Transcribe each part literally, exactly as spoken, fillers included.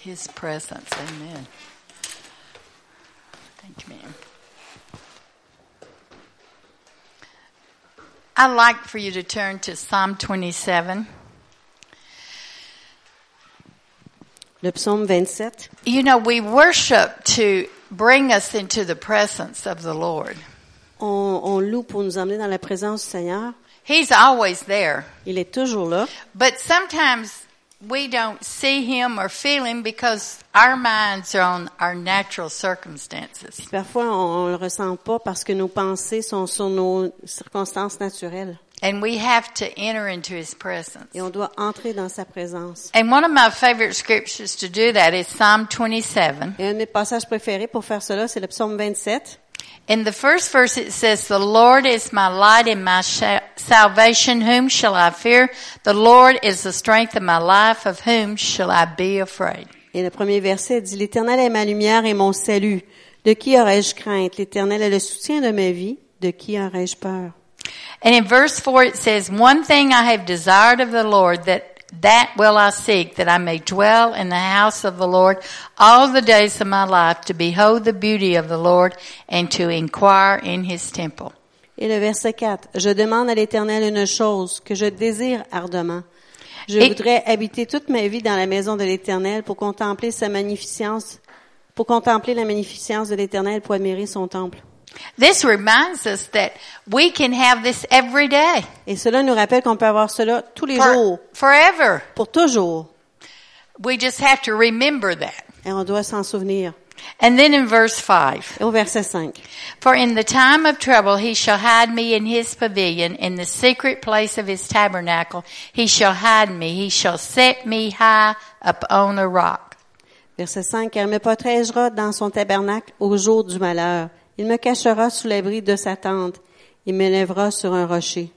His presence. Amen. Thank you, ma'am. I'd like for you to turn to Psalm twenty-seven. Le psaume vingt-sept. You know, we worship to bring us into the presence of the Lord. On, on loue pour nous emmener dans la présence du Seigneur. He's always there. Il est toujours là. But sometimes we don't see Him or feel Him because our minds are on our natural circumstances. Parfois, on, on le ressent pas parce que nos pensées sont sur nos circonstances naturelles. And we have to enter into His presence. Et on doit entrer dans sa présence. And one of my favorite scriptures to do that is Psalm twenty-seven. Et un de mes passages préférés pour faire cela, c'est le psaume vingt-sept. In the first verse it says, "The Lord is my light and my sh- salvation, whom shall I fear? The Lord is the strength of my life, of whom shall I be afraid?" Et le premier verset dit, l'Éternel est ma lumière et mon salut. De qui aurais-je crainte? L'Éternel est le soutien de ma vie. De qui aurais-je peur? And in verse four it says, "One thing I have desired of the Lord, that that will I seek, that I may dwell in the house of the Lord all the days of my life, to behold the beauty of the Lord and to inquire in His temple." Et le verset quatre, je demande à l'Éternel une chose que je désire ardemment. Je Et... voudrais habiter toute ma vie dans la maison de l'Éternel pour contempler sa magnificence, pour contempler la magnificence de l'Éternel, pour admirer son temple. This reminds us that we can have this every day. Et cela nous rappelle qu'on peut avoir cela tous les For, jours, forever. pour toujours. We just have to remember that. Et on doit s'en souvenir. And then in verse five. Et au verset cinq. "For in the time of trouble he shall hide me in his pavilion, in the secret place of his tabernacle he shall hide me, he shall set me high upon a rock." Verset cinq, car il me protégera dans son tabernacle au jour du malheur. Il me cachera sous l'abri de sa tente. Il m'élèvera sur un rocher.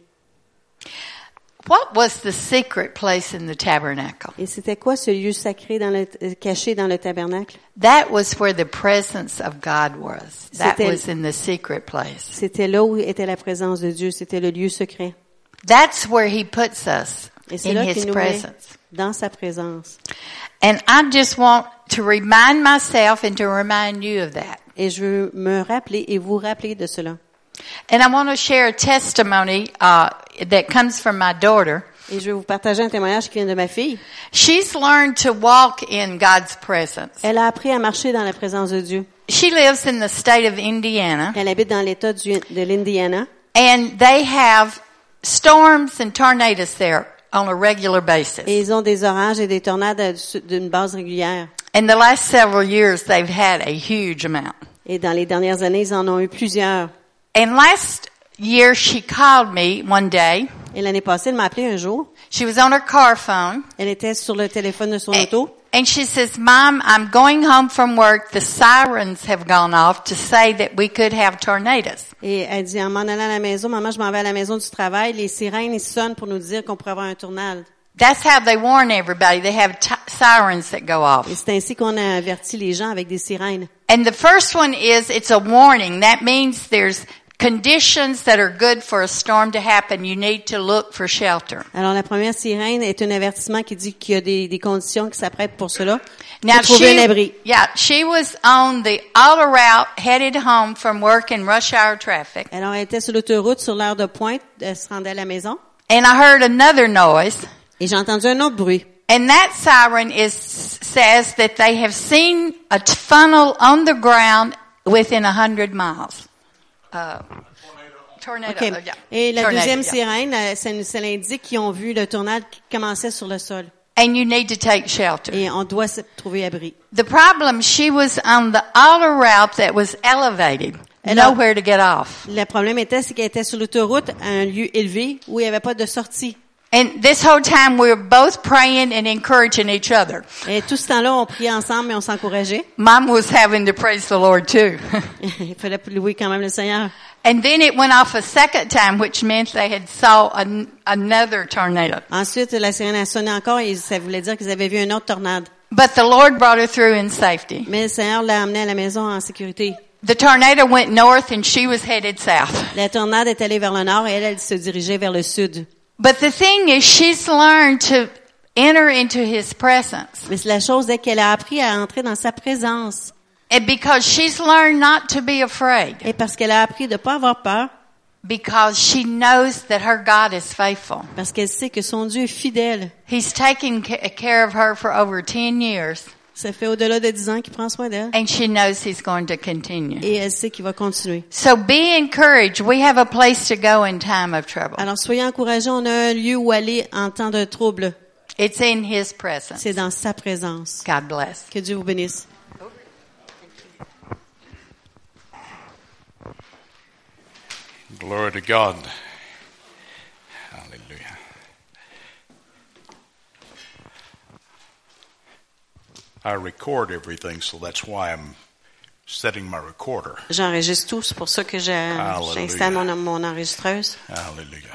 What was the secret place in the tabernacle? Et c'était quoi ce lieu sacré dans le, caché dans le tabernacle? That was where the presence of God was. That C'était- was in the secret place. C'était là où était la présence de Dieu. C'était le lieu secret. That's where He puts us, Et c'est in là His qu'il nous met presence. dans sa présence. And I just want to remind myself and to remind you of that. Et je veux me rappeler et vous rappeler de cela. And I want to share a testimony uh, that comes from my daughter. Et je vais vous partager un témoignage qui vient de ma fille. She's learned to walk in God's presence. Elle a appris à marcher dans la présence de Dieu. She lives in the state of Indiana, Elle habite dans l'État du- de l'Indiana. and they have storms and tornadoes there on a regular basis. Et ils ont des orages et des tornades d'une base régulière. In the last several years, they've had a huge amount. Et dans les dernières années, ils en ont eu plusieurs. And last year, she called me one day. Et l'année passée, elle m'a appelé un jour. She was on her car phone. Elle était sur le téléphone de son And, auto. and she says, "Mom, I'm going home from work. The sirens have gone off to say that we could have tornadoes." Et elle dit, en m'en allant à la maison, maman, je m'en vais à la maison du travail. Les sirènes, ils sonnent pour nous dire qu'on pourrait avoir un tornade. That's how they warn everybody. They have t- sirens that go off. Et c'est ainsi qu'on a averti les gens avec des sirènes. And the first one is, it's a warning. That means there's conditions that are good for a storm to happen. You need to look for shelter. Alors, la première sirène est un avertissement qui dit qu'il y a des, des conditions qui s'apprêtent pour cela. Now Pour trouver un abri. she, yeah, she was on the auto route headed home from work in rush hour traffic. Alors, elle était sur l'autoroute sur l'heure de pointe. Elle se rendait à la maison. And I heard another noise. Et j'ai entendu un autre bruit. And that siren is, says that they have seen a t- funnel on the ground within a hundred miles. Uh, tornado. Okay. uh, yeah. Et la Tornado, deuxième yeah. sirène, euh, ça, nous- ça l'indique qu'ils ont vu le tornade qui commençait sur le sol. And you need to take shelter. Et on doit se trouver abri. The problem, she was on the auto route that was elevated. Alors- Nowhere to get off. Le problème était, c'est qu'elle était sur l'autoroute à un lieu élevé où il n'y avait pas de sortie. And this whole time we were both praying and encouraging each other. Et tout ce temps-là, on priait ensemble et on s'encourageait. Mom was having to praise the Lord too. Il fallait louer quand même le Seigneur. And then it went off a second time, which meant they had saw an, another tornado. Ensuite, la sirène a sonné encore et ça voulait dire qu'ils avaient vu une autre tornade. But the Lord brought her through in safety. Mais le Seigneur l'a amenée à la maison en sécurité. The tornado went north and she was headed south. La tornade est allée vers le nord et elle, elle se dirigeait vers le sud. But the thing is, she's learned to enter into his presence. Mais la chose est qu'elle a appris à entrer dans sa présence. And because she's learned not to be afraid. Et parce qu'elle a appris de pas avoir peur. Because she knows that her God is faithful. Parce qu'elle sait que son Dieu est fidèle. He's taken care of her for over ten years. Ça fait au-delà de dix ans qu'il prend soin d'elle. And she knows he's going to continue. Et elle sait qu'il va continuer. So be encouraged. We have a place to go in time of trouble. Alors soyez encouragés, on a un lieu où aller en temps de trouble. It's in his presence. C'est dans sa présence. God bless. Que Dieu vous bénisse. Glory to God. Hallelujah. I record everything, so that's why I'm setting my recorder. J'enregistre tout, c'est pour ça que j'ai, j'installe mon, mon enregistreuse. Hallelujah.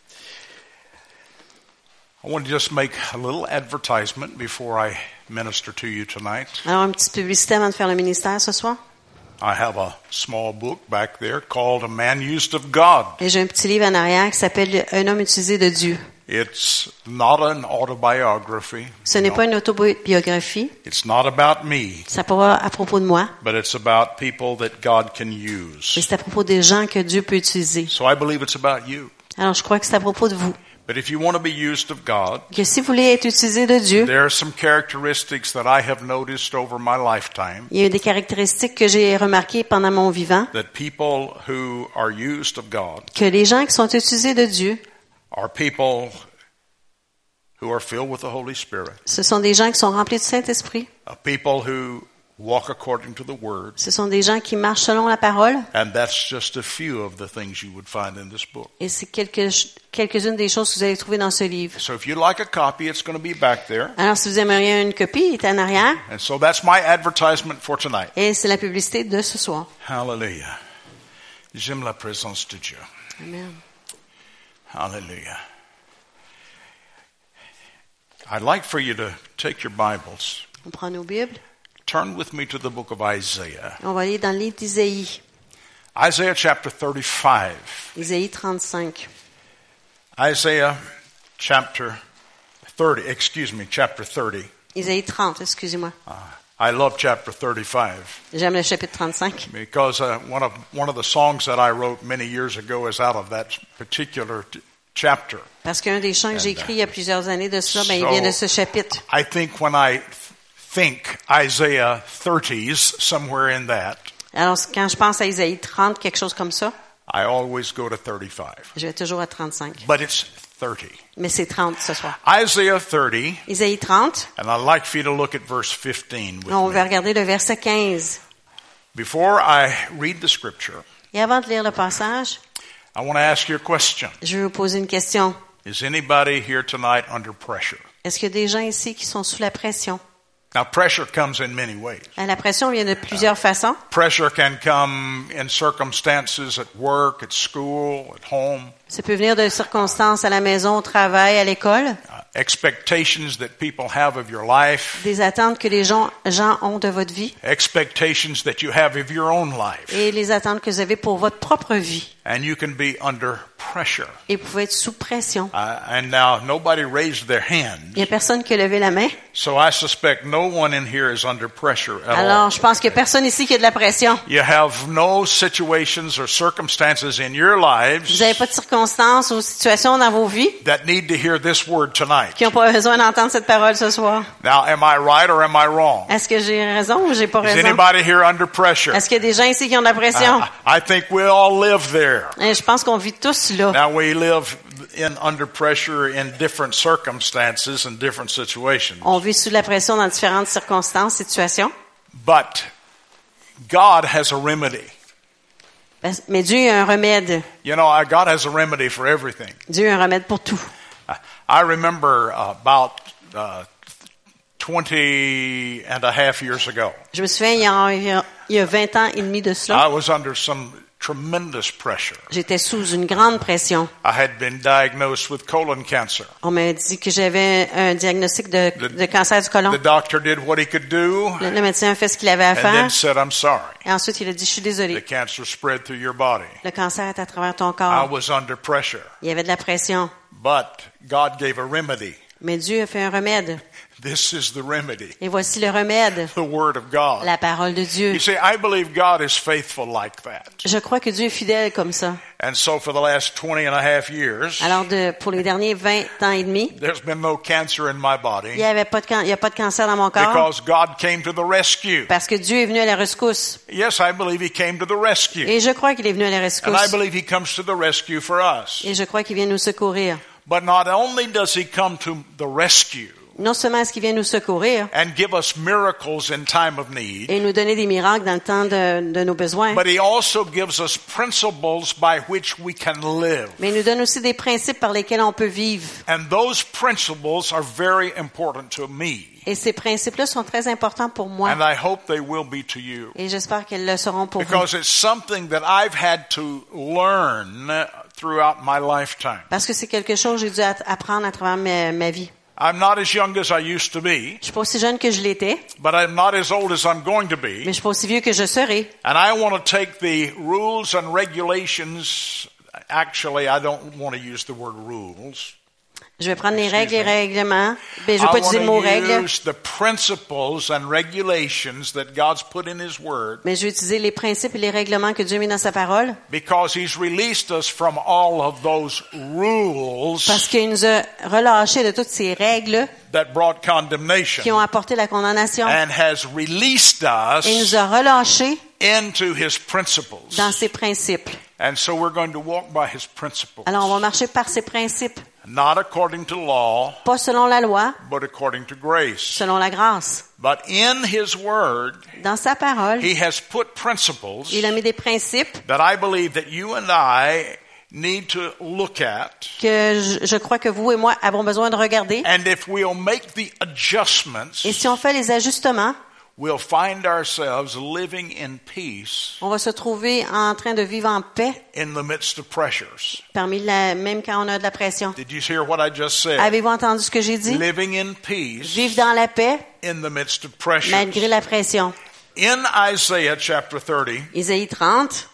I want to just make a little advertisement before I minister to you tonight. Alors, une petite publicité avant de faire le ministère ce soir. I have a small book back there called A Man Used of God. Et j'ai un petit livre en arrière qui s'appelle Un homme utilisé de Dieu. It's not an autobiography. Ce n'est No. pas une autobiographie. It's not about me, Ça pas à propos de moi, but it's about people that God can use. mais c'est à propos des gens que Dieu peut utiliser. So I believe it's about you. Alors, je crois que c'est à propos de vous. But if you want to be used of God, Que si vous voulez être utilisé de Dieu, there are some characteristics that I have noticed over my lifetime il y a des caractéristiques que j'ai remarquées pendant mon vivant, that people who are used of God que les gens qui sont utilisés de Dieu, are people who are filled with the Holy Spirit, ce sont des gens qui sont remplis du Saint-Esprit. uh, people who walk according to the Word, Ce sont des gens qui marchent selon la parole. and that's just a few of the things you would find in this book. Et c'est quelques, quelques-unes des choses que vous allez trouver dans ce livre. So if you'd like a copy, it's going to be back there. Alors, si vous aimeriez une copie, il est en arrière. And so that's my advertisement for tonight. Et c'est la publicité de ce soir. Hallelujah. J'aime la présence de Dieu. Amen. Hallelujah. I'd like for you to take your Bibles. On prend nos Bibles. Turn with me to the book of Isaiah. On va aller dans le livre d'Isaïe. Isaiah chapter thirty-five. Isaïe trente-cinq. Isaiah chapter thirty, excuse me, chapter thirty. Isaïe trente, excusez-moi. Uh, I love chapter thirty-five J'aime le chapitre trente-cinq. because uh, one of one of the songs that I wrote many years ago is out of that particular t- chapter. Parce qu'un des chants que j'ai écrit il y a plusieurs années de cela, ben, il So, vient de ce chapitre. I think when I th- think Isaiah thirties, somewhere in that, Alors, quand je pense à Isaïe trente, quelque chose comme ça, I always go to thirty-five. je vais toujours à trente-cinq. But it's thirty. Mais c'est trente ce soir. Isaiah thirty, Isaïe trente, and I'd like for you to look at verse fifteen with on va me. regarder le verset quinze. Before I read the scripture, Et avant de lire le passage, I want to ask you a question. je vais vous poser une question. Is anybody here tonight under pressure? Est-ce qu'il y a des gens ici qui sont sous la pression? Now, pressure comes in many ways. La pression vient de plusieurs façons. Pressure can come in circumstances at work, at school, at home. Ça peut venir de circonstances à la maison, au travail, à l'école. Uh, expectations that people have of your life. Des attentes que les gens, gens ont de votre vie. Expectations that you have of your own life. Et les attentes que vous avez pour votre propre vie. And you can be under pressure. Et vous pouvez être sous pression. Uh, and now, nobody raised their hand. Il n'y a personne qui a levé la main. So I suspect no one in here is under pressure at all. Alors, je pense qu'il n'y a personne ici qui a de la pression. You have no situations or circumstances in your lives Vous n'avez pas de circonstances ou situations dans vos vies that need to hear this word tonight. qui n'ont pas besoin d'entendre cette parole ce soir. Now, am I right or am I wrong? Est-ce que j'ai raison ou j'ai pas Is raison? anybody here under pressure? Est-ce qu'il y a des gens ici qui ont de la pression? Uh, I think we all live there. Et je pense qu'on vit tous là. Now, we live in under pressure in different circumstances and different situations. On vit sous la pression dans différentes circonstances, situations. But God has a remedy. Mais Dieu a un remède. You know, uh, God has a remedy for everything. Dieu a un remède pour tout. Uh, I remember uh, about uh, twenty and a half years ago, Je me souviens, il y a, il y a, il y a vingt ans et demi de cela, I was under some tremendous pressure. j'étais sous une grande pression. I had been diagnosed with colon cancer. On m'a dit que j'avais un diagnostic de, de cancer du côlon. The doctor did what he could do Le, le médecin a fait ce qu'il avait à and faire. then said, I'm sorry. Et ensuite, il a dit, je suis The désolé. cancer spread through your body. Le cancer est à travers ton I corps. was under pressure. Il y avait de la pression. But God gave a remedy. Mais Dieu a fait un remède. This is the remedy, Et voici le remède, the Word of God. la parole de Dieu. You see, I believe God is faithful like that. Je crois que Dieu est fidèle comme ça. And so for the last twenty and a half years, Alors, de, pour les derniers vingt ans et demi, there's been no cancer in my il body n'y avait pas de, can- il y a pas de cancer dans mon corps because God came to the rescue. parce que Dieu est venu à la rescousse. Yes, I believe He came to the rescue. Et je crois qu'il est venu à la And I rescousse. believe He comes to the rescue for us. Et je crois qu'il vient nous secourir. But not only does He come to the rescue Non seulement est-ce qu'il vient nous secourir and give us miracles in time of need, et nous donner des miracles dans le temps de, de nos besoins, but He also gives us principles by which we can live. mais il nous donne aussi des principes par lesquels on peut vivre. And those principles are very important to me. Et ces principes-là sont très importants pour moi. And I hope they will be to you. Et j'espère qu'ils le seront pour vous. Because it's something that I've had to learn throughout my lifetime. Parce que c'est quelque chose que j'ai dû at- apprendre à travers ma, ma vie. I'm not as young as I used to be, Je suis pas aussi jeune que je l'étais, but I'm not as old as I'm going to mais be. je suis pas aussi vieux que je serai. And I want to take the rules and regulations. Actually, I don't want to use the word rules. Je vais prendre les Excuse règles et me. règlements. Ben, je I vais pas utiliser le mot want to règle, use the principles and regulations that God's put in His Word mais je vais utiliser les principes et les règlements que Dieu a mis dans sa parole. because He's released us from all of those rules Parce qu'il nous a relâchés de toutes ces règles that brought condemnation qui ont apporté la condamnation and has released us et nous a relâchés into His principles. dans ses principes. And so we're going to walk by His principles, Alors, on va marcher par ses principes, not according to law, pas selon la loi, but according to grace. selon la grâce. But in His Word, Dans sa parole, He has put principles il a mis des principes that I believe that you and I need to look at. que je, je crois que vous et moi avons besoin de regarder. And if we'll make the adjustments, Et si on fait les ajustements, we'll find ourselves living in peace on va se trouver en train de vivre en paix, in the midst of pressures. parmi la, même quand on a de la pression. Did you hear what I just said? Avez-vous entendu ce que j'ai dit? Living in peace Vivre dans la paix, in the midst of pressures. malgré la pression. In Isaiah chapter thirty, Isaïe trente,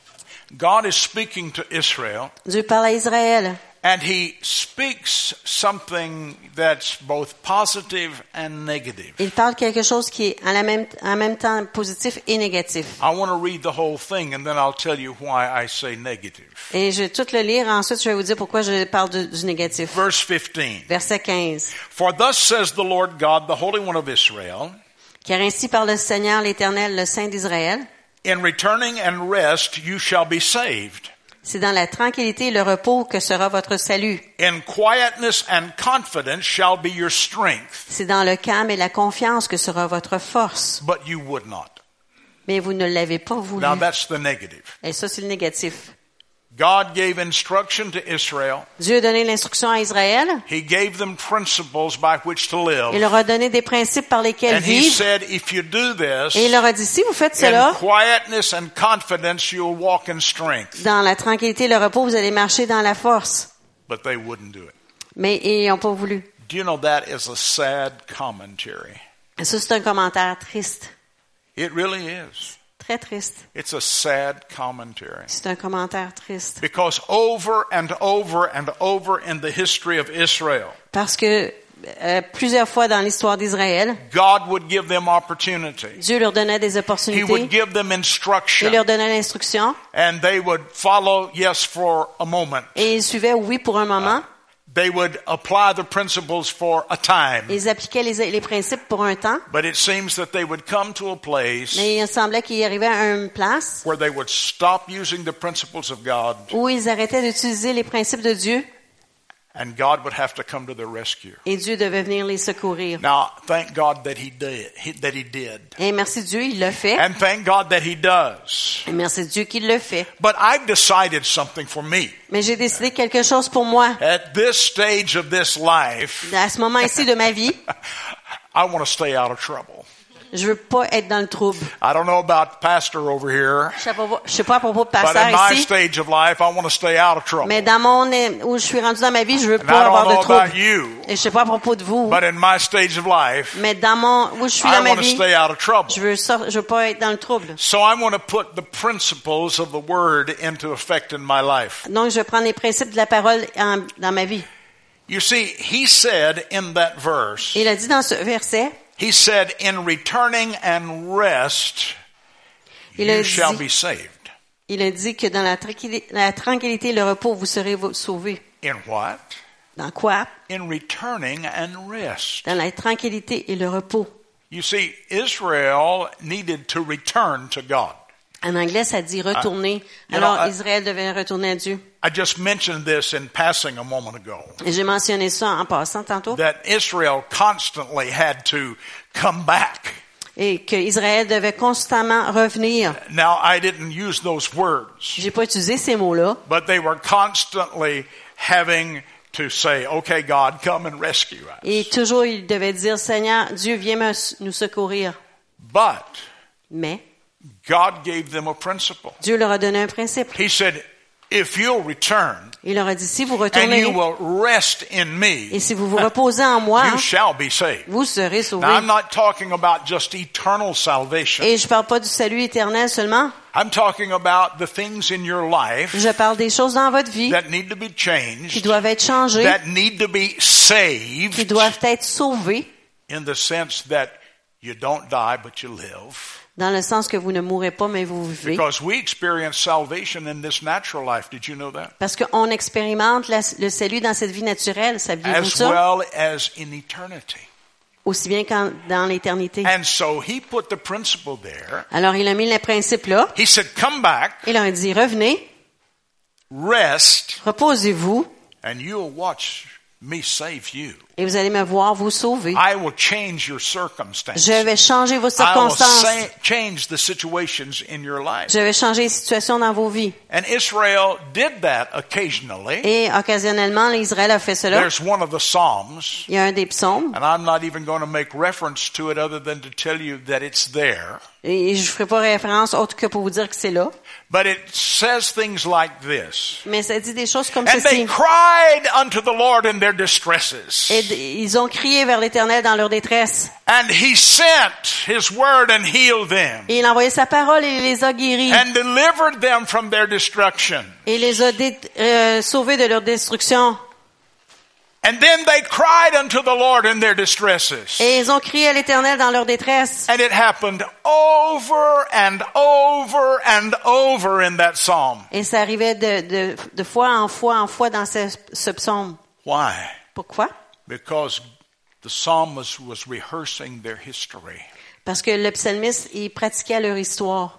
God is speaking to Israel, Dieu parle à Israël. and He speaks something that's both positive and negative. Il parle quelque chose qui est en, la même, en même temps positif et négatif. I want to read the whole thing, and then I'll tell you why I say negative. Et je vais tout le lire. Ensuite, je vais vous dire pourquoi je parle du, du négatif. Verse fifteen. Verset quinze. For thus says the Lord God, the Holy One of Israel, Car ainsi parle le Seigneur l'Éternel, le Saint d'Israël. in returning and rest you shall be saved. C'est dans la tranquillité et le repos que sera votre salut. In quietness and confidence shall be your strength. C'est dans le calme et la confiance que sera votre force. But you would not. Mais vous ne l'avez pas voulu. Now that's the negative. Et ça, c'est le négatif. God gave instruction to Israel. Dieu a donné l'instruction à Israël. He gave them principles by which to Il live. leur a donné des principes par lesquels And He vivre. said, if you do this, Et il leur a dit, si vous faites in cela, quietness and confidence you'll walk in strength. dans la tranquillité et le repos, vous allez marcher dans la force. But they wouldn't do it. Mais ils n'ont pas voulu. Do you know that is a sad commentary? Et ça, c'est un commentaire triste. It really is. Très triste. It's a sad commentary. C'est un commentaire triste. Because over and over and over in the history of Israel, Parce que euh, plusieurs fois dans l'histoire d'Israël, God would give them opportunity. Dieu leur donnait des He opportunités. would give them Il instruction. leur donnait l'instruction. And they would follow, yes, for a moment. Et ils suivaient, oui, pour un moment. They would apply the principles for a time. Ils appliquaient les, les principes pour un temps. But it seems that they would come to a place Mais il semblait qu'ils arrivaient à une place where they would stop using the principles of God, où ils arrêtaient d'utiliser les principes de Dieu and God would have to come to their rescue. et Dieu devait venir les secourir. Now, thank God that He did. He, that He did. Et merci Dieu, il le fait. And thank God that He does. Et merci Dieu qu'il le fait. But I've decided something for me. Mais j'ai décidé quelque chose pour moi. At this stage of this life, À ce moment-ci de ma vie, I want to stay out of trouble. je veux pas être dans le trouble. I don't know about pastor over here, Je sais pas, je sais pas à propos de but pasteur in my ici, stage of life, I want to stay out of trouble. mais dans mon, où je suis rendu dans ma vie, je veux And pas I avoir don't de know about trouble. you, Et je sais pas à propos de vous, but in my stage of life, mais dans mon, où je suis I dans ma want to vie, stay out of trouble. je veux sor- je veux pas être dans le trouble. So I want to put the principles of the Word into effect in my life. Donc, je vais prendre les principes de la parole en- dans ma vie. You see, he said in that verse, Il a dit dans ce verset, he said, in returning and rest, Il a you shall dit- be saved. il a dit que dans la tranquillité, la tranquillité et le repos, vous serez vo- sauvés. In what? Dans quoi? In returning and rest. Dans la tranquillité et le repos. You see, Israel needed to return to God. En anglais, ça dit retourner. you Alors, know, I- Israël devait retourner à Dieu. I just mentioned this in passing a moment ago, Et j'ai mentionné ça en passant tantôt. that Israel constantly had to come back. Et que Israël devait constamment revenir. Now, I didn't use those words, J'ai pas utilisé ces mots-là. but they were constantly having to say, okay, God, come and rescue us. Et toujours, il devait dire, Seigneur, Dieu, viens me- nous secourir. But Mais God gave them a principle. Dieu leur a donné un principe. He said, if you'll return Il leur a dit, si vous and retournez you will rest in me, et si vous vous reposez en moi, you shall be saved. vous serez sauvés. Now, I'm not talking about just eternal salvation. Et je parle pas du salut éternel seulement. I'm talking about the things in your life Je parle des choses dans votre vie that need to be qui changed, doivent être changées, that need to be qui saved, doivent être sauvées, in the sense that you don't die but you live. dans le sens que vous ne mourrez pas, mais vous vivez. Because we experience salvation in this natural life. Did you know that? Parce qu'on expérimente la- le salut dans cette vie naturelle, saviez-vous As ça? well as in eternity. Aussi bien qu'en dans l'éternité. And so he put the principle there. Alors, il a mis le principe là. He said, come back, Il leur a dit, revenez, rest, reposez-vous, and you'll watch me save you. et vous allez me voir vous sauver. I will change your circumstances. Je vais changer vos I will circonstances. sa- change the situations in your life. Je vais changer les situations dans vos vies. And Israel did that occasionally. Et occasionnellement, l'Israël a fait cela. There's one of the Psalms, Il y a un des psaumes. and I'm not even going to make reference to it other than to tell you that it's there. Et je ne ferai pas référence autre que pour vous dire que c'est là. But it says things like this. Mais ça dit des choses comme And they ceci. cried unto the Lord in their distresses. Et d- ils ont crié vers l'Éternel dans leur détresse. And he sent his word and healed them. Et il a envoyé sa parole et il les a guéris. And delivered them from their destruction. Et il les a dé- euh, sauvés de leur destruction. And then they cried unto the Lord in their distresses. Et ils ont crié à l'Éternel dans leur détresse. And it happened over and over and over in that psalm. Et ça arrivait de, de, de fois en fois en fois dans ce, ce psaume. Why? Pourquoi? Because the psalmist was rehearsing their history. Parce que le psalmiste, il pratiquait leur histoire.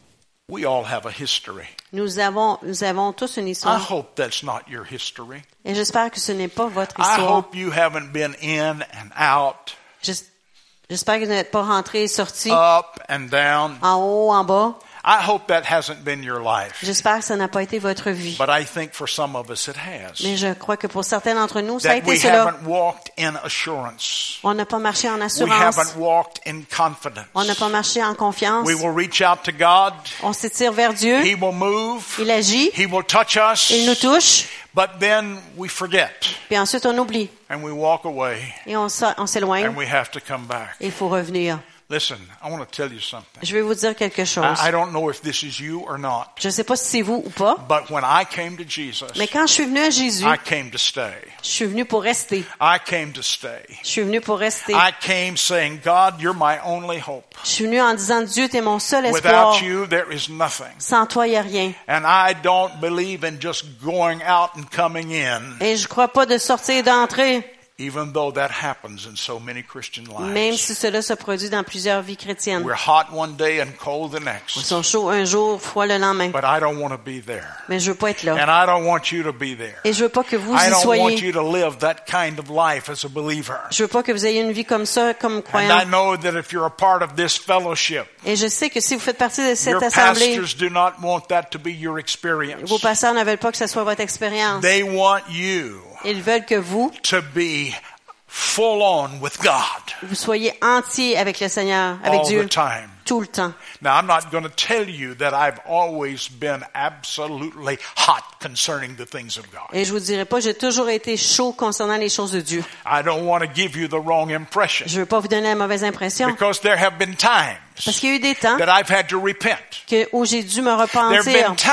We all have a history. Nous avons, nous avons tous une I histoire. hope that's not your history. Et j'espère que ce n'est pas votre I histoire. hope you haven't been in and out, J'es- J'espère que vous n'êtes pas rentré et sorti up and down. en haut, en bas. I hope that hasn't been your life. J'espère que ça n'a pas été votre vie. But I think for some of us it has. Mais je crois que pour certains d'entre nous, ça a That we été cela. haven't walked in assurance. On n'a pas marché en We assurance. haven't walked in confidence. On n'a pas marché en confiance. We will reach out to God. On s'étire vers Dieu. He will move. Il agit. He will touch us. Il nous touche. But then we forget Puis ensuite, on oublie. and we walk away Et on s'en- on s'éloigne. and we have to come back. Et il faut revenir. Listen, I want to tell you something. Je vais vous dire quelque chose. I, I don't know if this is you or not, Je ne sais pas si c'est vous ou pas. but when I came to Jesus, Mais quand je suis venu à Jésus, I came to stay. je suis venu pour rester. I came to stay. Je suis venu pour rester. I came saying, God, you're my only hope. Je suis venu en disant, Dieu, t'es mon seul espoir. Without you, there is nothing. Sans toi, il n'y a rien. And I don't believe in just going out and coming in, Et je crois pas de sortir et d'entrer, even though that happens in so many Christian même lives. si cela se produit dans plusieurs vies chrétiennes. We're hot one day and cold the Ils next. sont chauds un jour, froids le lendemain. But I don't want to be there. Mais je veux pas être là. And I don't want you to be there. Et je veux pas que vous I y don't want soyez. you to live that kind of life as a believer. Je veux pas que vous ayez une vie comme ça, comme And I croyant. know that if you're a part of this fellowship, Et je sais que si vous faites partie de cette your assemblée, pastors do not want that to be your experience. vos pasteurs ne veulent pas que ce soit votre expérience. They want you Ils veulent que vous, to be full on with God vous soyez entier avec le Seigneur, avec all Dieu, the time. tout le temps. Now, I'm not going to tell you that I've always been absolutely hot concerning the things of God. Et je vous dirai pas, j'ai toujours été chaud concernant les choses de Dieu. I don't want to give you the wrong impression, Je veux pas vous donner la mauvaise impression. because there have been times Parce qu'il y a eu des temps that I've had to repent. que, où j'ai dû me There have repentir. been times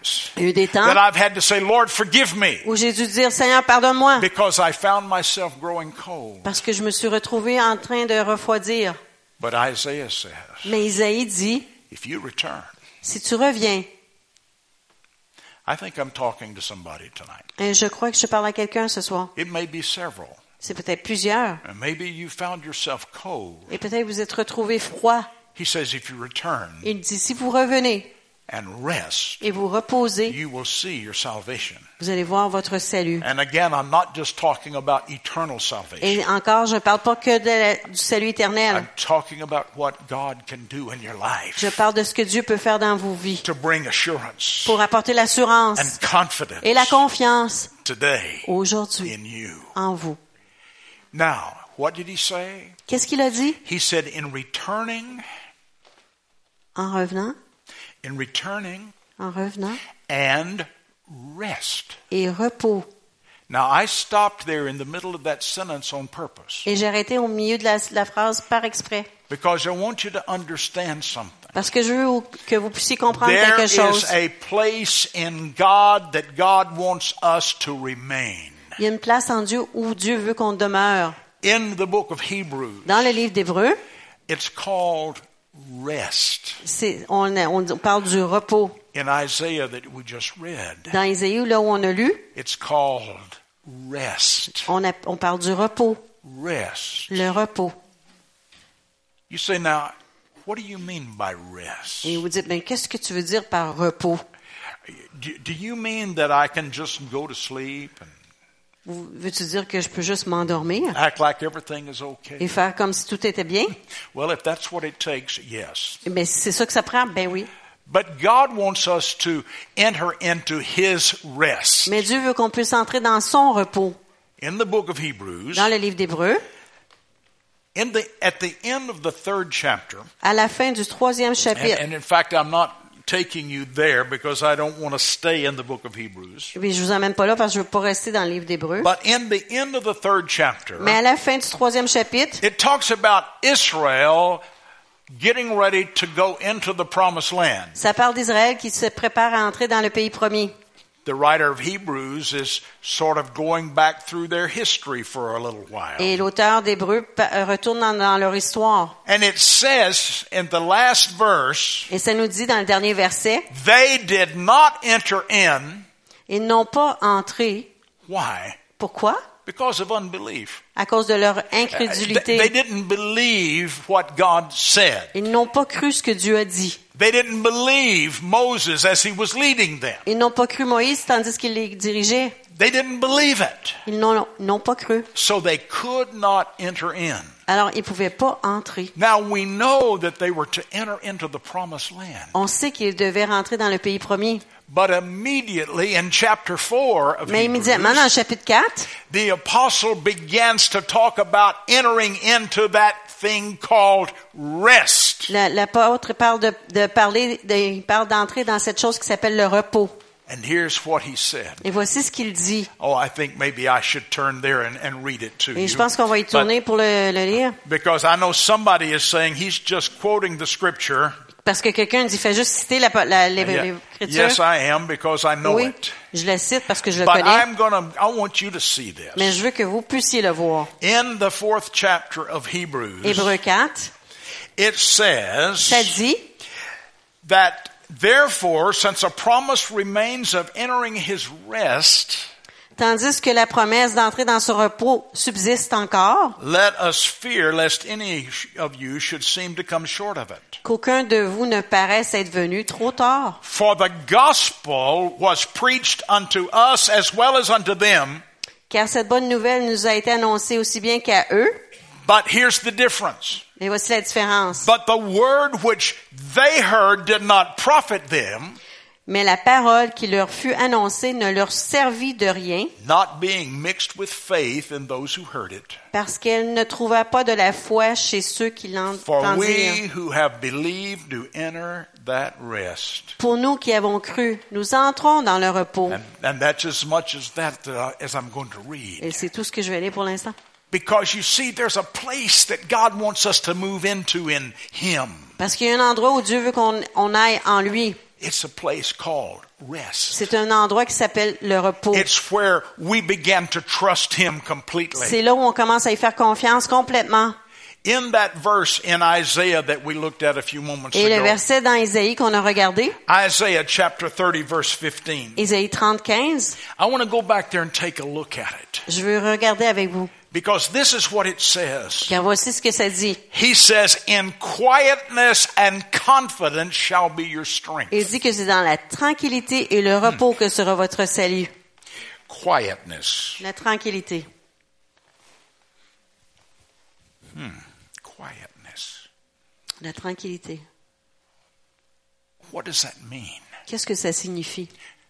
times Il y a eu des temps that I've had to say, Lord, forgive me, où j'ai dû dire, Seigneur, pardonne-moi, because I found myself growing cold. parce que je me suis retrouvé en train de refroidir. But Isaiah says, Mais Isaïe dit, if you return, si tu reviens, I think I'm talking to somebody tonight. et je crois que je parle à quelqu'un ce soir. It may be several. C'est peut-être plusieurs. And maybe you found yourself cold. Et peut-être vous êtes retrouvé froid. He says, if you return Il dit, si vous revenez and rest, et vous reposez, you will see your salvation. vous allez voir votre salut. And again, I'm not just talking about eternal salvation. Et encore, je ne parle pas que de la- du salut éternel. I'm talking about what God can do in your life Je parle de ce que Dieu peut faire dans vos vies to bring assurance pour apporter l'assurance and confidence et la confiance today aujourd'hui in you. en vous. Now, what did he say? Qu'est-ce qu'il a dit? He said, in returning, En revenant, in returning en revenant, and rest. et repos. Now, I stopped there in the middle of that sentence on purpose Et j'ai arrêté au milieu de la, la phrase par exprès. because I want you to understand something. Parce que je veux que vous puissiez comprendre There quelque chose. is a place in God that God wants us to remain. Il y a une place en Dieu où Dieu veut qu'on demeure. In the book of Hebrews, Dans le livre d'Hébreux, it's called rest. c'est, on, on parle du repos. In Isaiah that we just read, Dans Isaïe, là où on a lu, it's called rest. on, a, on parle du repos. Rest. Le repos. You say, now, what do you mean by rest? Et vous dites, mais qu'est-ce que tu veux dire par repos? Do, do you mean that I can just go to sleep and Vous- Veux-tu dire que je peux juste m'endormir act like everything is okay? et faire comme si tout était bien? Well, if that's what it takes, yes. Mais c'est ça que ça prend? Ben oui. But God wants us to enter into His rest. Mais Dieu veut qu'on puisse entrer dans son repos. In the book of Hebrews, Dans le livre d'Hébreux, in the, at the end of the third chapter, à la fin du troisième and, chapitre, and in fact, I'm not taking you there because I don't want to stay in the book of Hebrews. puis je vous emmène pas là parce que je veux pas rester dans le livre d'Hébreux, But in the end of the third chapter, mais à la fin du troisième chapitre, it talks about Israel getting ready to go into the promised land. ça parle d'Israël qui se prépare à entrer dans le pays promis. The writer of Hebrews is sort of going back through their history for a little while. Et l'auteur d'Hébreux pa- retourne dans, dans leur histoire. And it says in the last verse, Et ça nous dit dans le dernier verset, they did not enter in. ils n'ont pas entré. Why? Pourquoi? Because of unbelief. À cause de leur Uh, They, incrédulité. they didn't believe what God said. Ils n'ont pas cru ce que Dieu a dit. They didn't believe Moses as he was leading them. Ils n'ont pas cru Moïse tandis qu'il les dirigeait. They didn't believe it. Ils n'ont, n'ont pas cru. So they could not enter in. Alors, ils ne pouvaient pas entrer. Now we know that they were to enter into the promised land. On sait qu'ils devaient rentrer dans le pays promis. But immediately in chapter four of Mais immédiatement, dans le Hebrews, chapitre quatre, the apostle begins to talk about entering into that thing called rest. la- l'apôtre parle de, de parler, de, il parle d'entrer dans cette chose qui s'appelle le repos. And here's what he said. Et voici ce qu'il dit. Oh, I think maybe I should turn there and, and read it to Et you. je pense qu'on va y But- tourner pour le, le lire. because I know somebody is saying he's just quoting the scripture. Parce que quelqu'un dit, fait juste citer la, la, Yeah. l'écriture. Yes, I am because I know Oui, it. je la cite parce que je le But connais. I'm gonna, I want you to see Mais this. je veux que vous puissiez le voir. In the fourth chapter of Hebrews, Hébreux quatre, it ça says dit, that therefore, since a promise remains of entering his rest, tandis que la promesse d'entrer dans ce repos subsiste encore, let us fear lest any of you should seem to come short of it. qu'aucun de vous ne paraisse être venu trop tard. For the gospel was preached unto us as well as unto them, Car cette bonne nouvelle nous a été annoncée aussi bien qu'à eux. but here's the difference. Et voici la différence. But the word which they heard did not profit them, Mais la parole qui leur fut annoncée ne leur servit de rien, not being mixed with faith in those who heard it. parce qu'elle ne trouva pas de la foi chez ceux qui For l'entendirent. we who have believed do enter that rest. Pour nous qui avons cru, nous entrons dans le repos. And, and that's as much as that uh, as I'm going to read. Et c'est tout ce que je vais lire pour l'instant. Because you see, there's a place that God wants us to move into in Him. Parce qu'il y a un endroit où Dieu veut qu'on on aille en lui. It's a place called rest. C'est un endroit qui s'appelle le repos. It's where we begin to trust Him completely. C'est là où on commence à y faire confiance complètement. In that verse in Isaiah that we looked at a few moments Et le ago, verset dans Isaïe qu'on a regardé, Isaiah chapter thirty, verse fifteen. Isaïe trente, quinze, I want to go back there and take a look at it. je veux regarder avec vous. Because this is what it says. Car voici ce que ça dit. He says, in quietness and confidence shall be your strength. Il dit que c'est dans la tranquillité et le repos que sera votre salut. Quietness. La tranquillité. Hmm. Quietness. La tranquillité. What does that mean? Qu'est-ce que ça signifie?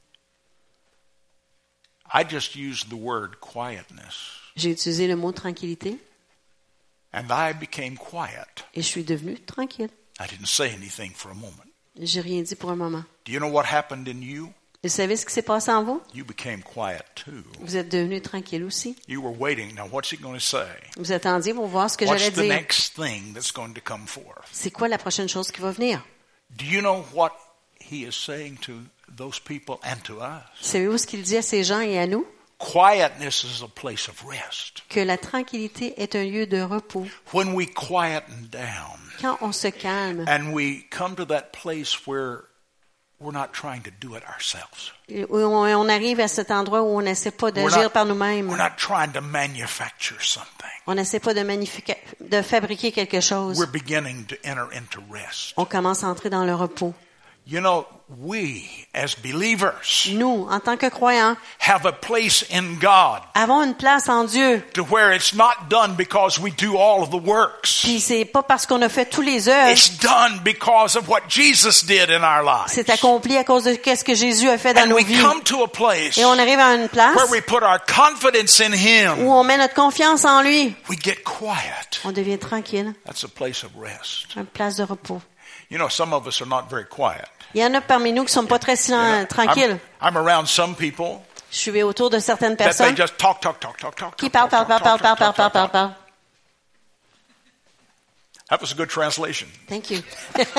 I just used the word quietness. J'ai utilisé le mot tranquillité And I became quiet. et je suis devenue tranquille. I didn't say anything for a moment. J'ai rien dit pour un moment. Do you know what happened in you? Vous savez ce qui s'est passé en vous? You became quiet too. Vous êtes devenu tranquille aussi. You were waiting. Now what's he going to say? Vous attendiez pour voir ce que j'allais What's the dire. next thing that's going to come forth? C'est quoi la prochaine chose qui va venir? Do you know what he is saying to those people and to us? Savez-vous ce qu'il dit à ces gens et à nous? Quietness is a place of rest. Que la tranquillité est un lieu de repos. When we quieten down Quand on se calme and we come to that place where we're not trying to do it ourselves. et où on on arrive à cet endroit où on n'essaie pas We're d'agir not, par we're nous-mêmes. not trying to manufacture something. On n'essaie pas de, magnifica- de fabriquer quelque chose. We're beginning to enter into rest. On commence à entrer dans le repos. You know, we as believers Nous, en tant que croyants, have a place in God avons une place en Dieu. to where it's not done because we do all of the works. Puis c'est pas parce qu'on a fait tous les œuvres, It's done because of what Jesus did in our lives. c'est accompli à cause de qu'est-ce que Jésus a fait dans And nos we vies. come to a place Et on arrive à une place where we put our confidence in où Him. on met notre confiance en lui. We get quiet. On devient tranquille, That's a place of rest. une place de repos. You know, some of us are not very quiet. Il y en a parmi nous qui sont pas très You silen- know, tranquilles. I'm, I'm around some people Je suis autour de certaines that they personnes just talk, talk, talk, talk, talk. qui talk, parlent, talk, parlent, parlent, talk, parlent, talk, parlent, talk, parlent, talk, parlent, talk. parlent. That was a good translation. Thank you.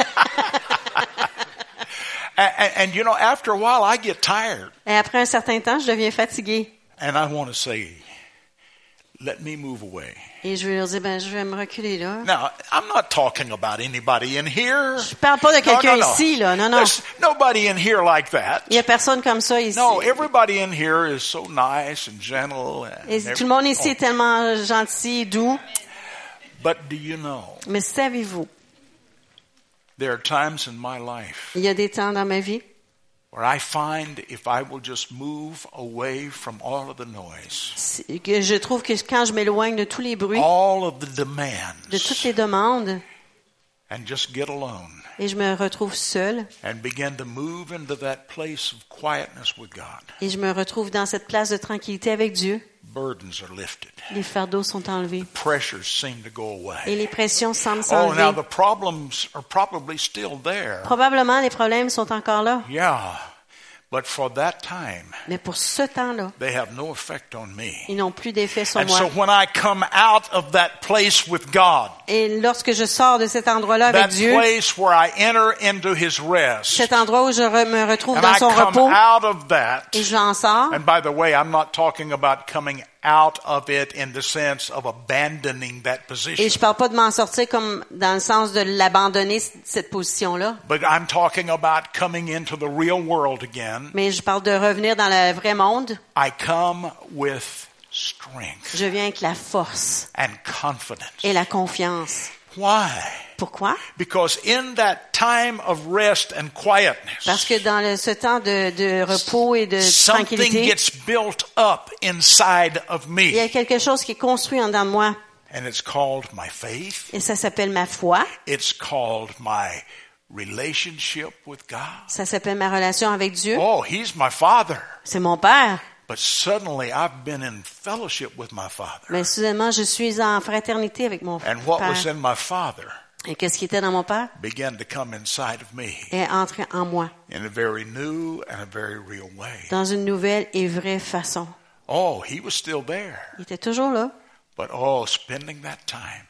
And, and, and you know, after a while, I get tired, Et après un certain temps, je deviens fatiguée. and I want to say, "Let me move away." Et je vais leur dire, ben, je vais me reculer là. Now, I'm not talking about anybody in here. Je parle pas de No, quelqu'un no, no. ici, là. Non, non. There's nobody in here like that. Il y a personne comme ça ici. No, everybody in here is so nice and gentle. And Et tout le monde ici est oh. tellement gentil, doux. But do you know, Mais savez-vous, there are times in my life il y a des temps dans ma vie where I find if I will just move away from all of the noise, c'est que je trouve que quand je m'éloigne de tous les bruits, all of the demands, de toutes les demandes, and just get alone et je me retrouve seule, and begin to move into that place of quietness with God, et je me retrouve dans cette place de tranquillité avec Dieu, burdens are lifted. les fardeaux sont enlevés Pressures seem to go away. et les pressions semblent Oh, now s'enlever. the problems are probably still there. Probablement, les problèmes sont encore là. Yeah, but for that time, Mais pour ce temps-là, they have no effect on me. ils n'ont plus d'effet sur And moi. so when I come out of that place with God, Et lorsque je sors de cet endroit-là avec that Dieu, place where I enter into His rest, cet endroit où je re- me retrouve and dans I son come repos, out of that, et j'en sors, and by the way, I'm not talking about coming out of it in the sense of abandoning that et position, je parle pas de m'en sortir comme dans le sens de l'abandonner, cette position-là, but I'm talking about coming into the real world again. mais je parle de revenir dans le vrai monde. I come with strength Je viens avec la force and confidence. et la confiance. Why? Pourquoi? Because in that time of rest and quietness, Parce que dans le- ce temps de, de repos et de something tranquillité, gets built up inside of il y a me, quelque chose qui est construit en dedans de moi, and it's called my faith. et ça s'appelle ma foi, It's called my relationship with God. ça s'appelle ma relation avec Dieu. Oh, He's my Father. C'est mon Père. But suddenly I've been in fellowship with my Father. Mais soudainement, je suis en fraternité avec mon And what was Père. in my Father Et qu'est-ce qui était dans mon Père began to come inside of me est entré en moi, in a very new and a very real way. dans une nouvelle et vraie façon. Oh, He was still there. Il était toujours là. But oh, spending that time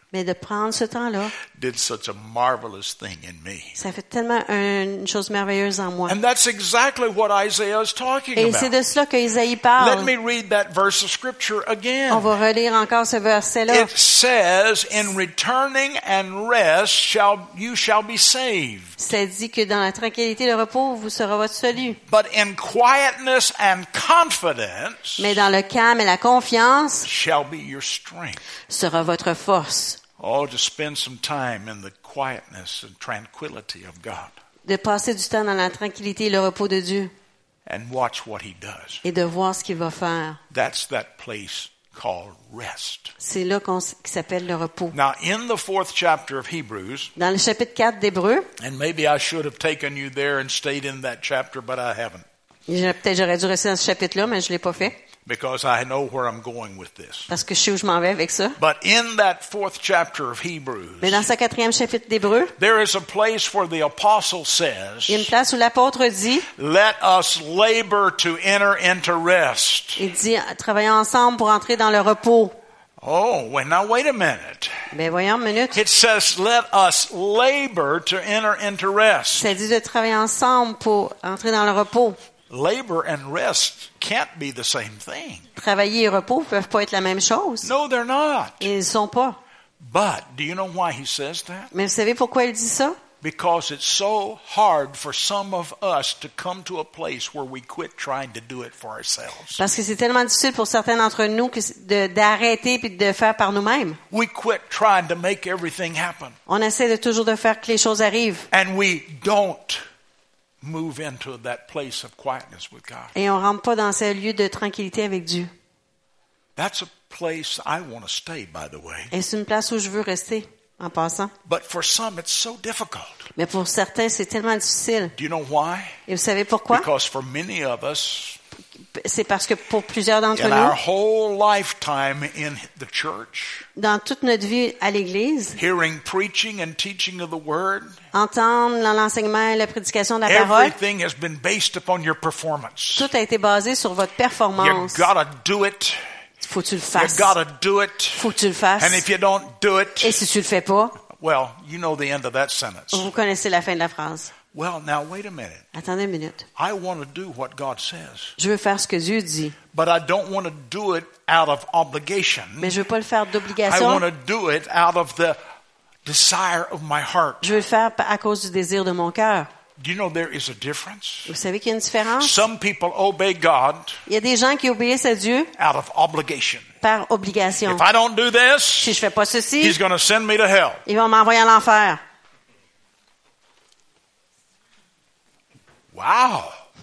Mais de prendre ce temps-là, did such a marvelous thing in me. ça fait tellement un- une chose merveilleuse en moi. And that's exactly what Isaiah is talking Et c'est about. de cela que Isaïe Let parle. me read that verse of scripture On again. va relire encore ce verset-là. It says, in returning and rest shall you shall be saved. Ça dit que dans la tranquillité et le repos, vous sera votre salut. But in quietness and confidence Mais dans le calme et la confiance shall be your strength. sera votre force. Oh, to spend some time in the quietness and tranquility of God De passer du temps dans la tranquillité et le repos de Dieu and watch what He does. et de voir ce qu'il va faire. That's that place called rest. C'est là qu'on, s- qui s'appelle le repos. Now, in the fourth chapter of Hebrews, Dans le chapitre quatre d'Hébreux, and maybe I should have taken you there and stayed in that chapter, but I haven't, j'ai- peut-être j'aurais dû rester dans ce chapitre-là, mais je l'ai pas fait because I know where I'm going with this. parce que je sais où je m'en vais avec ça. But in that fourth chapter of Hebrews, Mais dans ce quatrième chapitre d'Hébreux, there is a place where the apostle il y a une says, place où l'apôtre dit, let us labor to enter into rest. il dit, travaillons ensemble pour entrer dans le repos. Oh, well, now wait a minute. Ben voyons une minute. It says, let us labor to enter into rest. Ça dit de travailler ensemble pour entrer dans le repos. Labor and rest can't be the same thing. Travailler et repos peuvent pas être la même chose. No, they're not. Ils ne sont pas. But do you know why he says that? Mais vous savez pourquoi il dit ça? Because it's so hard for some of us to come to a place where we quit trying to do it for ourselves. Parce que c'est tellement difficile pour certains d'entre nous que c'est de, d'arrêter puis de faire par nous-mêmes. We quit trying to make everything happen. On essaie de toujours de faire que les choses arrivent. And we don't move into that place of quietness with God. Et on rentre pas dans ce lieu de tranquillité avec Dieu. That's a place I want to stay, by the way. Et c'est une place où je veux rester, en passant. But for some, it's so difficult. Mais pour certains, c'est tellement difficile. Do you know why? Et vous savez pourquoi? Because for many of us, C'est parce que pour plusieurs d'entre in our nous, whole lifetime in the church, dans toute notre vie à l'Église, hearing preaching and teaching of the Word, entendre l'enseignement et la prédication de la parole, everything has been based upon your performance. tout a été basé sur votre You performance. gotta do it. Faut que tu le You fasses. gotta do it. Faut que tu le fasses. And if you don't do Et it, si tu le fais pas, well, you know the end of that sentence. vous connaissez la fin de la phrase. Well, now wait a minute. Attendez une minute. I want to do what God says, Je veux faire ce que Dieu dit, but I don't want to do it out of obligation. mais je veux pas le faire I d'obligation. want to do it out of the desire of my heart. Je veux le faire à cause du désir de mon cœur. Do you know there is a difference? Vous savez qu'il y a une différence? Some people obey God Il y a des gens qui obéissent à Dieu out of obligation. par obligation. If I don't do this, Si je fais pas ceci, He's going to send me to hell. ils vont m'envoyer à l'enfer. Wow.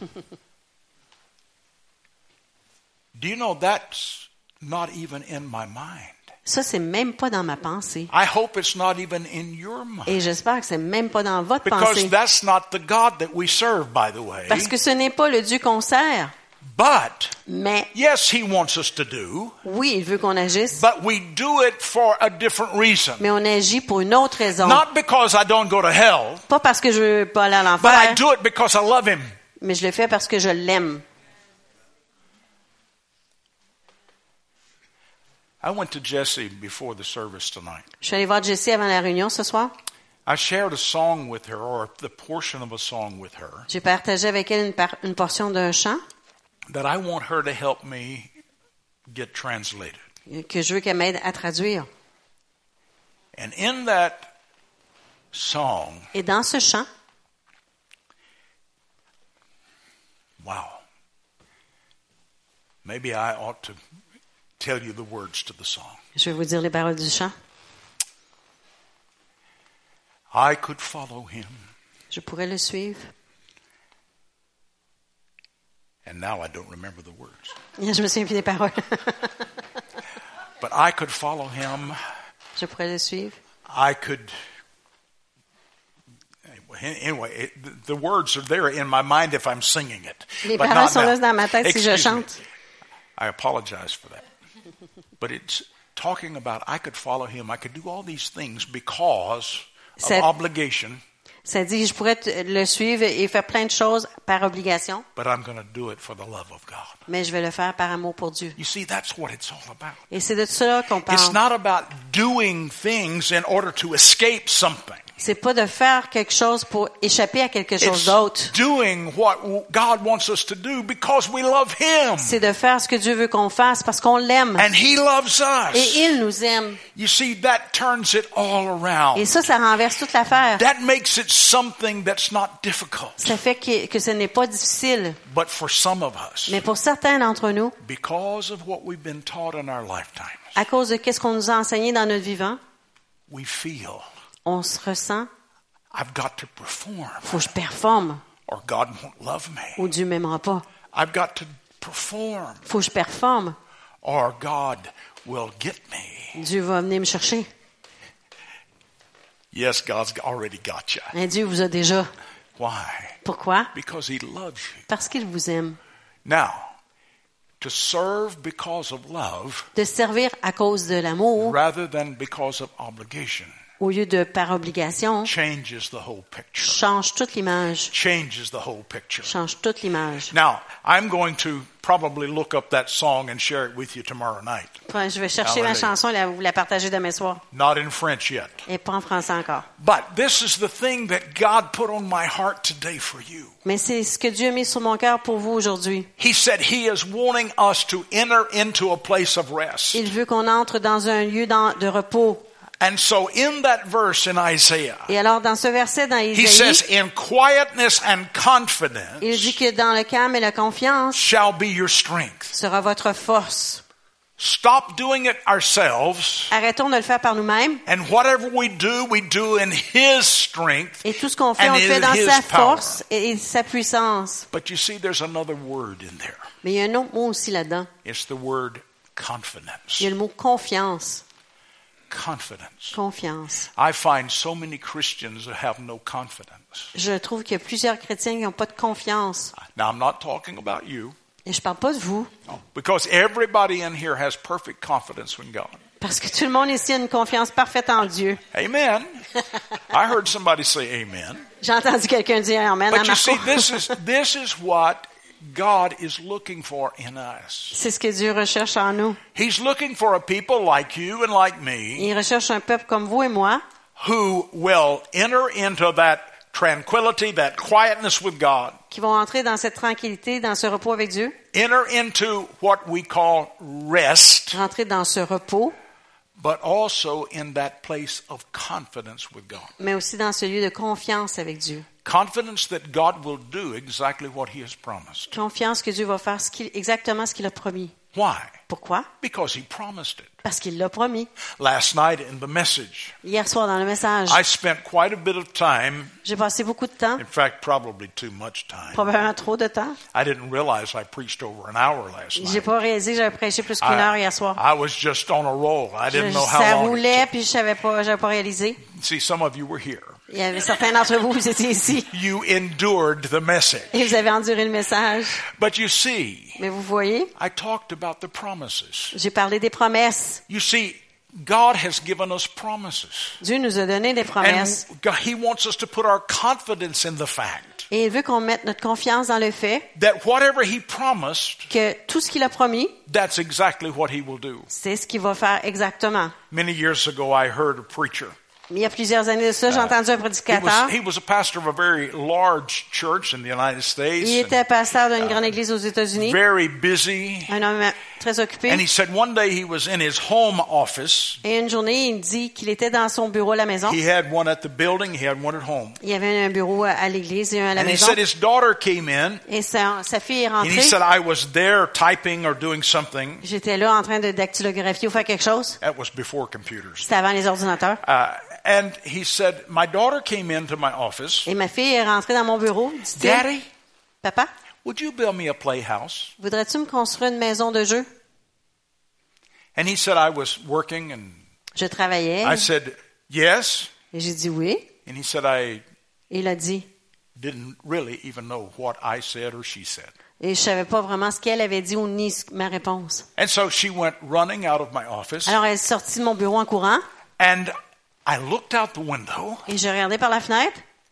Do you know that's not even in my mind? Ça, c'est même pas dans ma pensée. I hope it's not even in your mind. Et j'espère que c'est même pas dans votre Because pensée. that's not the God that we serve, by the way. Parce que ce n'est pas le Dieu qu'on sert. But, Mais yes, He wants us to do, oui, il veut qu'on agisse. but we do it for a different reason. Mais on agit pour une autre raison. Not because I don't go to hell, Pas parce que je veux pas aller à but I l'enfer, do it because I love Him. mais je le fais parce que je l'aime. I went to Jessie before the service tonight. Je suis allée voir Jessie avant la réunion ce soir. I shared a song with her, or the portion of a song with her, J'ai partagé avec elle une, par- une portion d'un chant that I want her to help me get translated. que je veux qu'elle m'aide à traduire. And in that song, Et dans ce chant, wow, maybe I ought to tell you the words to the song. je vais vous dire les paroles du chant. I could follow him, Je pourrais le suivre. and now I don't remember the words. Je me souviens plus des paroles. But I could follow him. Je pourrais le suivre. I could. Anyway, it, the words are there in my mind if I'm singing it. Les but paroles not sont now. là dans ma tête si je Excuse me. chante. I apologize for that. But it's talking about I could follow him. I could do all these things because of Ça- obligation. Ça dit, je pourrais te- le suivre et faire plein de choses par obligation, but I'm going to do it for the love of God. mais je vais le faire par amour pour Dieu. You see, that's what it's all about. Et c'est de cela qu'on It's parle. not about doing things in order to escape something. C'est pas de faire quelque chose pour échapper à quelque chose It's d'autre. doing what God wants us to do because we love Him. C'est de faire ce que Dieu veut qu'on fasse parce qu'on l'aime. And He loves Et us. il nous aime. You see, that turns it all around. Et ça, ça renverse toute l'affaire. That makes it something that's not difficult. Ça fait que, que ce n'est pas difficile. But for some of us, Mais pour certains d'entre nous, because of what we've been taught in our lifetimes, à cause de qu'est-ce qu'on nous a enseigné dans notre vivant, we feel, on se ressent, I've got to perform, faut que je performe or God won't love me. ou Dieu m'aimera pas. I've got to perform, Faut que je performe, or God will get me. Dieu va venir me chercher. Yes, God's already got you. Et Dieu vous a déjà. Why? Pourquoi? Because He loves you. Parce qu'il vous aime. Now, to serve because of love De servir à cause de l'amour rather than because of obligation au lieu de par obligation changes the whole picture. change toute l'image. Changes the whole picture. Change toute l'image. Now, I'm going to probably look up that song and share it with you tomorrow night. Enfin, je vais chercher ma Hallelujah. chanson et la- vous la partager demain soir. Not in French yet. Et pas en français encore. But this is the thing that God put on my heart today for you. Mais c'est ce que Dieu a mis sur mon cœur pour vous aujourd'hui. He said He is wanting us to enter into a place of rest. Il veut qu'on entre dans un lieu d'en- de repos. And so in that verse in Isaiah, Et alors, dans ce verset dans He Isaïe, says, in quietness and confidence il dit que dans le calme et la confiance shall be your strength. sera votre force. Stop doing it ourselves, Arrêtons de le faire par nous-mêmes. and whatever we do, we do in His strength. Et tout ce qu'on fait, And on le fait in dans His sa power. force et, et sa puissance. But you see, there's another word in there. Mais il y a un autre mot aussi là-dedans. It's the word confidence. Il y a le mot confiance. Confidence. Confiance. I find so many Christians that have no confidence. Je trouve qu'il y a plusieurs chrétiens qui n'ont pas de confiance. Now, I'm not talking about you, Et je parle pas de vous. because everybody in here has perfect confidence in God. Parce que tout le monde ici a une confiance parfaite en Dieu. Amen. I heard somebody say amen. J'ai entendu quelqu'un dire Amen à But you see, Marco. this is this is what God is looking for in us. C'est ce que Dieu recherche en nous. He's looking for a people like you and like me Il recherche un peuple comme vous et moi who will enter into that tranquility, that quietness with God, qui vont entrer dans cette tranquillité, dans ce repos avec Dieu, enter into what we call rest, rentrer dans ce repos, but also in that place of confidence with God. mais aussi dans ce lieu de confiance avec Dieu. Confidence that God will do exactly what He has promised. Confiance que Dieu va faire ce qu'il- exactement ce qu'il a promis. Why? Pourquoi? Because He promised it. Parce qu'il l'a promis. Last night in the message, Hier soir dans le message, I spent quite a bit of time, j'ai passé beaucoup de temps, in fact, probably too much time. probablement trop de temps. I didn't realize I preached over an hour last J'ai night. pas réalisé que j'avais prêché plus qu'une heure hier soir. I, I was just on a roll. I Je- didn't know how ça long. roulait, It puis je savais pas, j'avais pas réalisé. took. See, some of you were here. Il y avait certains d'entre vous, vous étiez ici, You endured the message. et vous avez enduré le message. But you see, Mais vous voyez, I talked about the promises. j'ai parlé des promesses. You see, God has given us promises. Dieu nous a donné des And promesses. God- He wants us to put our confidence in the fact Et il veut qu'on mette notre confiance dans le fait that whatever He promised, que tout ce qu'il a promis, that's exactly what He will do. c'est ce qu'il va faire exactement. Many years ago, I heard a preacher. Il y a plusieurs années de ça, j'ai entendu un He prédicateur. was, he was a pastor of a very large church in the United States. Il and était pasteur d'une grande église aux États-Unis, very busy. un homme très occupé. And he said one day he was in his home office. Et une journée, il dit qu'il était dans son bureau à la maison. He had one at the building, he had one at home. Il y avait un bureau à l'église et un à la And he maison. said his daughter came in, Et sa, sa fille est and he rentrée. said, I was there typing or doing something. J'étais là en train de dactylographier ou faire quelque chose. That was before computers. C'était avant les ordinateurs. Uh, and he said, my daughter came into my office. Et ma fille est rentrée dans mon bureau. Dit-il, Daddy, Papa, would you build me a playhouse? voudrais-tu me construire une maison de jeu? And he said, I was working, and Je travaillais. I said, yes. Et j'ai dit oui. And he said, I Et il a dit. didn't really even know what I said or she said. Et je savais pas vraiment ce qu'elle avait dit ou ni ce- ma réponse. And so she went running out of my office, Alors elle est sortie de mon bureau en courant. and I looked out the window, Et je regardais par la fenêtre.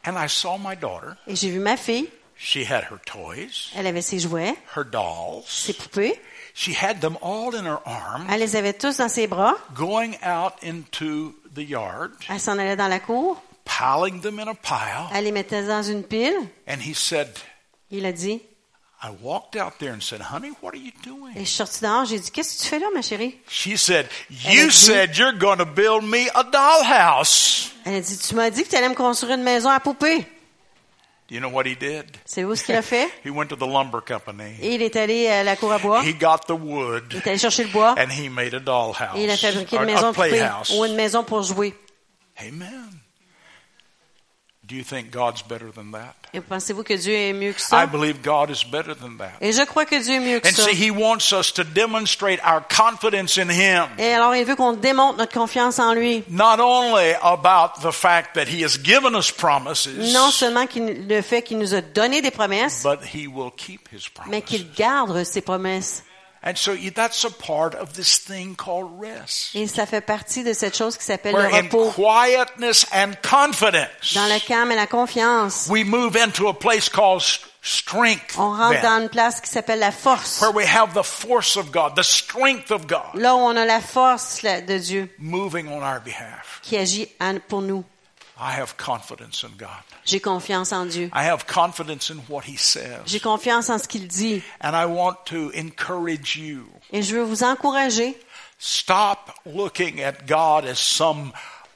And I saw my daughter. Et j'ai vu ma fille. She had her toys, Elle avait ses jouets, her dolls. ses poupées. She had them all in her arms, Elle les avait tous dans ses bras. going out into the yard, Elle s'en allait dans la cour. piling them in a pile. Elle les mettait dans une pile. And he said, Il a dit, I walked out there and said, honey, what are you et doing? je suis sortie dehors. J'ai dit, qu'est-ce que tu fais là, ma chérie? She said, Elle a you dit- said you're going to build me a dollhouse. Elle a dit, tu m'as dit que tu allais me construire une maison à poupées. You know what he did? C'est où ce qu'il a fait? He went to the lumber company. Et il est allé à la cour à bois. He got the Il wood est allé chercher le bois. and he made a dollhouse, Et il a fabriqué or une maison a de poupées playhouse. ou une maison pour jouer. Amen. Do you think God's better than that? Et pensez-vous que Dieu est mieux que I ça? believe God is better than that. Et je crois que Dieu est mieux que And ça. see, He wants us to demonstrate our confidence in Him. Et alors, il veut qu'on démontre notre confiance en lui. Not only about the fact that He has given us promises, Non seulement qu'il, le fait qu'il nous a donné des promesses, but He will keep His mais promises. qu'il garde ses promesses. And so that's a part of this thing called rest. Et ça fait partie de cette chose qui s'appelle le Where in repos. quietness and confidence, Dans le calme et la confiance, we move into a place called st- strength. on rentre then, dans une place qui s'appelle la force. where we have the force of God, the strength of God, Là où on a la force là, de Dieu moving on our behalf. qui agit en- pour nous. I have confidence in God. J'ai confiance en Dieu. I have confidence in what He says. J'ai confiance en ce qu'il dit. And I want to encourage you. Et je veux vous encourager. Stop looking at God as some,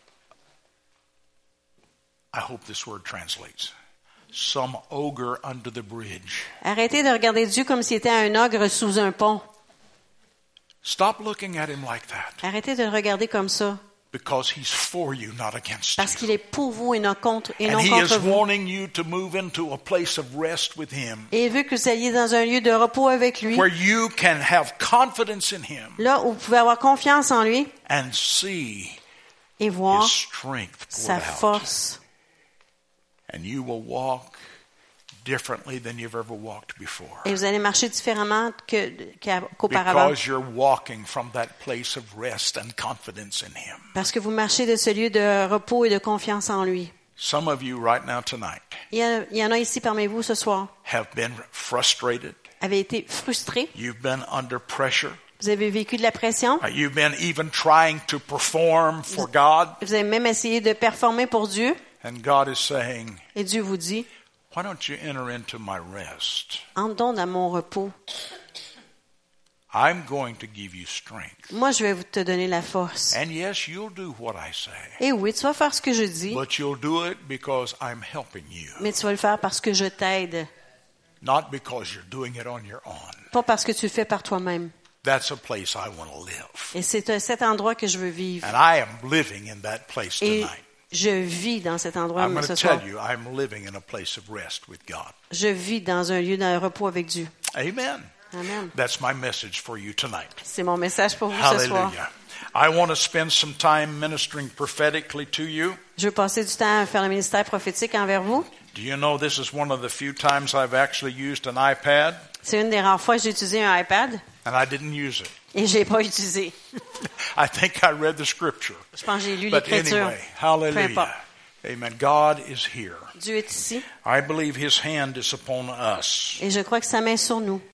I hope this word translates, some ogre under the bridge. Arrêtez de regarder Dieu comme s'il était un ogre sous un pont. Stop looking at Him like that. Arrêtez de le regarder comme ça. Because He's for you, not against Parce you. qu'il est pour vous et non contre, et And non He contre is vous. wanting you to move into a place of rest with Him, Et il veut que vous alliez dans un lieu de repos avec lui. where you can have confidence in Him Là où vous pouvez avoir confiance en lui and see et voir His strength sa poured out. force. And you will walk differently than you've ever walked before. Et vous allez marcher différemment que, qu'à- qu'auparavant. Because you're walking from that place of rest and confidence in Him. Parce que vous marchez de ce lieu de repos et de confiance en lui. Some of you right now tonight Il y, a- il y en a ici parmi vous ce soir. have been frustrated. Avez été frustrés. You've been under pressure. Vous avez vécu de la pression. Uh, You've been even trying to perform for God. Vous avez même essayé de performer pour Dieu. And God is saying, Et Dieu vous dit, why don't you enter into my rest? entre donc dans mon repos. I'm going to give you strength. Moi, je vais vous te donner la force. And yes, you'll do what I say. Et oui, tu vas faire ce que je dis, But you'll do it because I'm helping you. mais tu vas le faire parce que je t'aide. Not because you're doing it on your own. Pas parce que tu le fais par toi-même. That's a place I want to live. Et c'est à cet endroit que je veux vivre. And I am living in that place Et tonight. je vis dans cet endroit I'm going ce to soir. tell you, I'm living in a place of rest with God. Je vis dans un lieu de repos avec Dieu. Amen. Amen. That's my message for you tonight. C'est mon message pour vous ce soir. Hallelujah. I want to spend some time ministering prophetically to you. Je veux passer du temps à faire le ministère prophétique envers vous. Do you know this is one of the few times I've actually used an iPad C'est une des rares fois que j'ai utilisé un iPad and I didn't use it. et je l'ai pas utilisé. I think I read the scripture. Je pense que j'ai lu But l'Écriture. anyway, Peu hallelujah. importe. Amen. God is here. Dieu est ici I believe His hand is upon us. et je crois que sa main est sur nous.